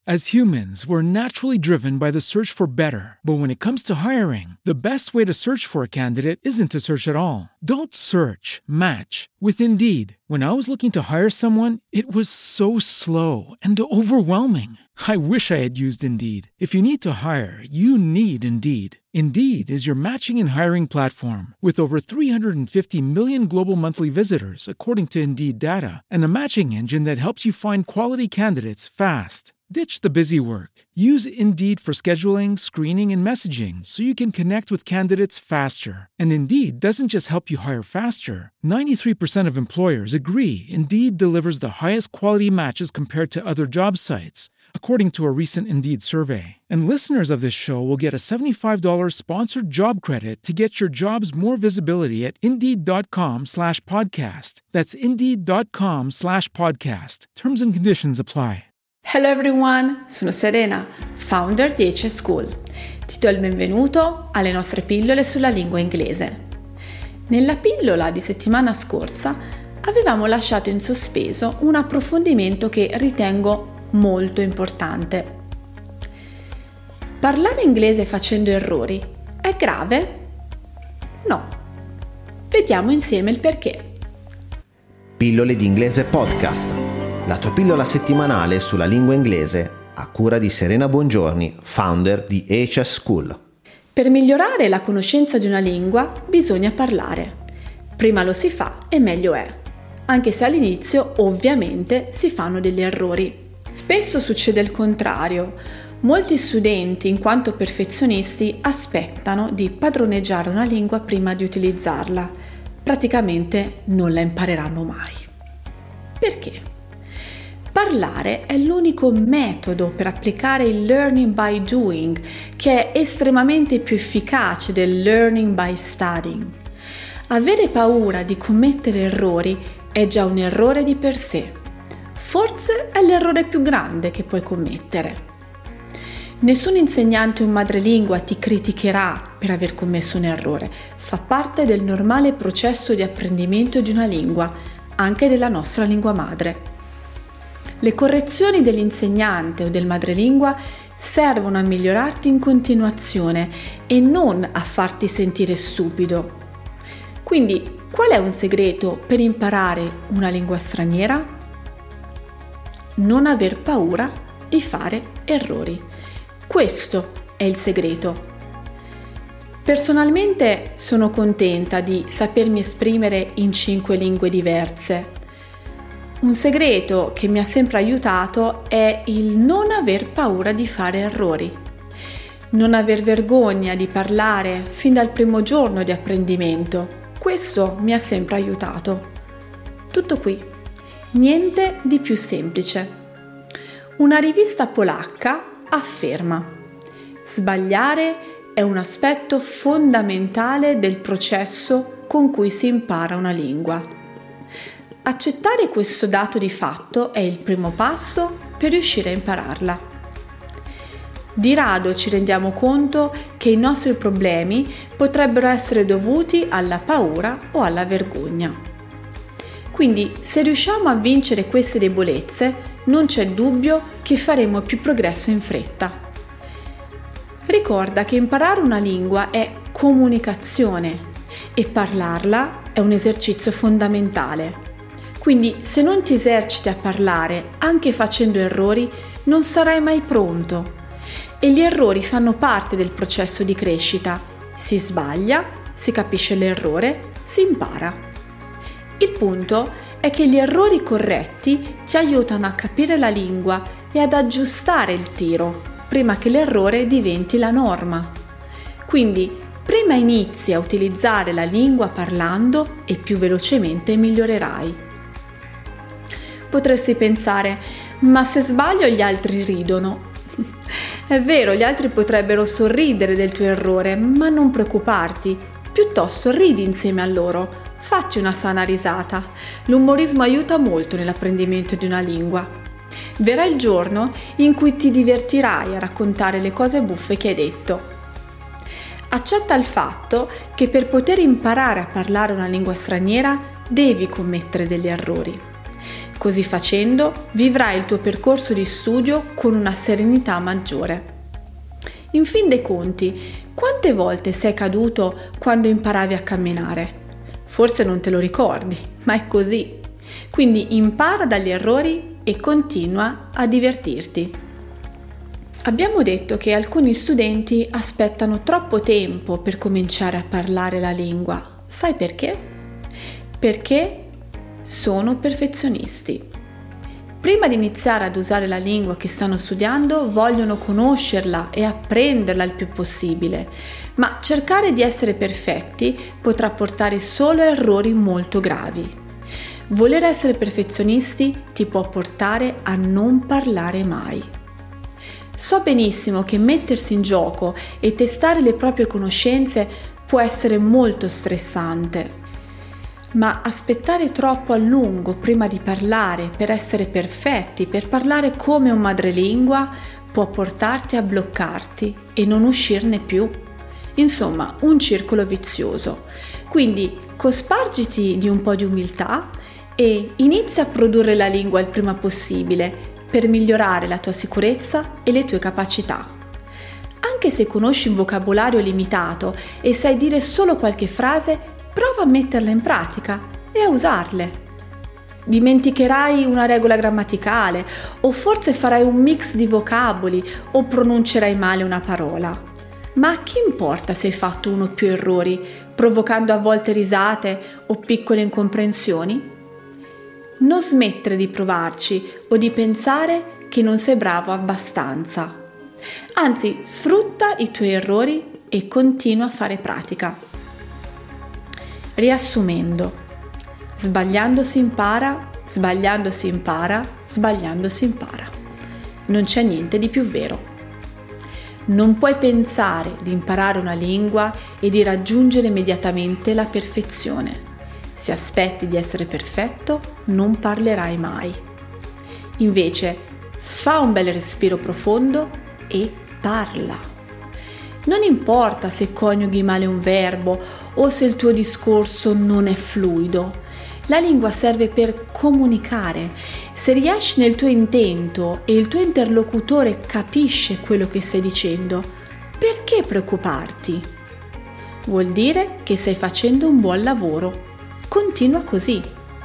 As humans, we're naturally driven by the search for better. But when it comes to hiring, the best way to search for a candidate isn't to search at all. Don't search, match with Indeed. When I was looking to hire someone, it was so slow and overwhelming. I wish I had used Indeed. If you need to hire, you need Indeed. Indeed is your matching and hiring platform with over 350 million global monthly visitors, according to Indeed data, and a matching engine that helps you find quality candidates fast. Ditch the busy work. Use Indeed for scheduling, screening, and messaging so you can connect with candidates faster. And Indeed doesn't just help you hire faster. 93% of employers agree Indeed delivers the highest quality matches compared to other job sites, according to a recent Indeed survey. And listeners of this show will get a $75 sponsored job credit to get your jobs more visibility at Indeed.com/podcast. That's Indeed.com/podcast. Terms and conditions apply. Hello everyone, sono Serena, founder di HS School. Ti do il benvenuto alle nostre pillole sulla lingua inglese. Nella pillola di settimana scorsa avevamo lasciato in sospeso un approfondimento che ritengo molto importante. Parlare inglese facendo errori è grave? No. Vediamo insieme il perché. Pillole di inglese podcast. La tua pillola settimanale sulla lingua inglese a cura di Serena Bongiorni, founder di HS School. Per migliorare la conoscenza di una lingua bisogna parlare. Prima lo si fa e meglio è, anche se all'inizio ovviamente si fanno degli errori. Spesso succede il contrario. Molti studenti, in quanto perfezionisti, aspettano di padroneggiare una lingua prima di utilizzarla. Praticamente non la impareranno mai. Perché? Parlare è l'unico metodo per applicare il learning by doing, che è estremamente più efficace del learning by studying. Avere paura di commettere errori è già un errore di per sé. Forse è l'errore più grande che puoi commettere. Nessun insegnante o madrelingua ti criticherà per aver commesso un errore. Fa parte del normale processo di apprendimento di una lingua, anche della nostra lingua madre. Le correzioni dell'insegnante o del madrelingua servono a migliorarti in continuazione e non a farti sentire stupido. Quindi, qual è un segreto per imparare una lingua straniera? Non aver paura di fare errori. Questo è il segreto. Personalmente sono contenta di sapermi esprimere in 5 lingue diverse. Un segreto che mi ha sempre aiutato è il non aver paura di fare errori. Non aver vergogna di parlare fin dal primo giorno di apprendimento. Questo mi ha sempre aiutato. Tutto qui. Niente di più semplice. Una rivista polacca afferma: sbagliare è un aspetto fondamentale del processo con cui si impara una lingua. Accettare questo dato di fatto è il primo passo per riuscire a impararla. Di rado ci rendiamo conto che i nostri problemi potrebbero essere dovuti alla paura o alla vergogna. Quindi, se riusciamo a vincere queste debolezze, non c'è dubbio che faremo più progresso in fretta. Ricorda che imparare una lingua è comunicazione e parlarla è un esercizio fondamentale. Quindi, se non ti eserciti a parlare, anche facendo errori, non sarai mai pronto. E gli errori fanno parte del processo di crescita. Si sbaglia, si capisce l'errore, si impara. Il punto è che gli errori corretti ti aiutano a capire la lingua e ad aggiustare il tiro, prima che l'errore diventi la norma. Quindi, prima inizi a utilizzare la lingua parlando e più velocemente migliorerai. Potresti pensare, ma se sbaglio gli altri ridono. È vero, gli altri potrebbero sorridere del tuo errore, ma non preoccuparti, piuttosto ridi insieme a loro, fatti una sana risata. L'umorismo aiuta molto nell'apprendimento di una lingua. Verrà il giorno in cui ti divertirai a raccontare le cose buffe che hai detto. Accetta il fatto che per poter imparare a parlare una lingua straniera devi commettere degli errori. Così facendo, vivrai il tuo percorso di studio con una serenità maggiore. In fin dei conti, quante volte sei caduto quando imparavi a camminare? Forse non te lo ricordi, ma è così. Quindi impara dagli errori e continua a divertirti. Abbiamo detto che alcuni studenti aspettano troppo tempo per cominciare a parlare la lingua. Sai perché? Perché sono perfezionisti. Prima di iniziare ad usare la lingua che stanno studiando, vogliono conoscerla e apprenderla il più possibile, ma cercare di essere perfetti potrà portare solo a errori molto gravi. Voler essere perfezionisti ti può portare a non parlare mai. So benissimo che mettersi in gioco e testare le proprie conoscenze può essere molto stressante. Ma aspettare troppo a lungo prima di parlare per essere perfetti, per parlare come un madrelingua, può portarti a bloccarti e non uscirne più. Insomma, un circolo vizioso. Quindi cospargiti di un po' di umiltà e inizia a produrre la lingua il prima possibile per migliorare la tua sicurezza e le tue capacità. Anche se conosci un vocabolario limitato e sai dire solo qualche frase, prova a metterla in pratica e a usarle. Dimenticherai una regola grammaticale o forse farai un mix di vocaboli o pronuncerai male una parola. Ma a chi importa se hai fatto uno o più errori, provocando a volte risate o piccole incomprensioni? Non smettere di provarci o di pensare che non sei bravo abbastanza. Anzi, sfrutta i tuoi errori e continua a fare pratica. Riassumendo, sbagliando si impara, sbagliando si impara, sbagliando si impara. Non c'è niente di più vero. Non puoi pensare di imparare una lingua e di raggiungere immediatamente la perfezione. Se aspetti di essere perfetto, non parlerai mai. Invece, fa un bel respiro profondo e parla. Non importa se coniughi male un verbo o se il tuo discorso non è fluido. La lingua serve per comunicare. Se riesci nel tuo intento e il tuo interlocutore capisce quello che stai dicendo, perché preoccuparti? Vuol dire che stai facendo un buon lavoro. Continua così.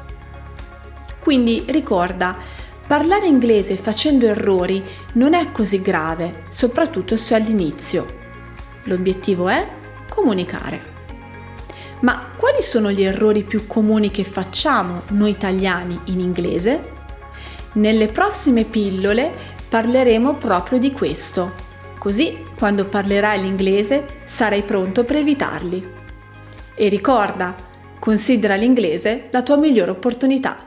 Quindi ricorda, parlare inglese facendo errori non è così grave, soprattutto se all'inizio. L'obiettivo è comunicare. Ma quali sono gli errori più comuni che facciamo noi italiani in inglese? Nelle prossime pillole parleremo proprio di questo, così quando parlerai l'inglese sarai pronto per evitarli. E ricorda, considera l'inglese la tua migliore opportunità.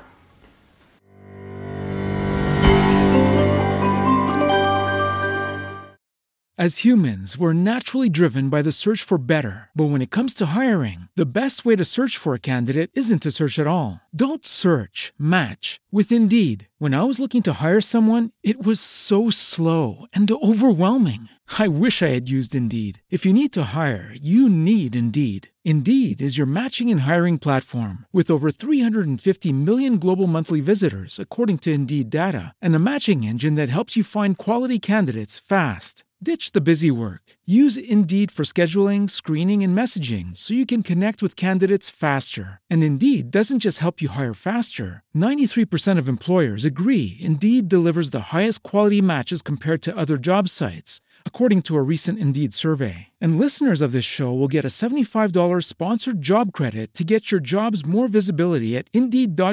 As humans, we're naturally driven by the search for better. But when it comes to hiring, the best way to search for a candidate isn't to search at all. Don't search, match with Indeed. When I was looking to hire someone, it was so slow and overwhelming. I wish I had used Indeed. If you need to hire, you need Indeed. Indeed is your matching and hiring platform with over 350 million global monthly visitors, according to Indeed data, and a matching engine that helps you find quality candidates fast. Ditch the busy work. Use Indeed for scheduling, screening, and messaging so you can connect with candidates faster. And Indeed doesn't just help you hire faster. 93% of employers agree Indeed delivers the highest quality matches compared to other job sites, according to a recent Indeed survey. And listeners of this show will get a $75 sponsored job credit to get your jobs more visibility at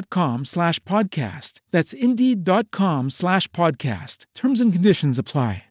Indeed.com/podcast. That's Indeed.com/podcast. Terms and conditions apply.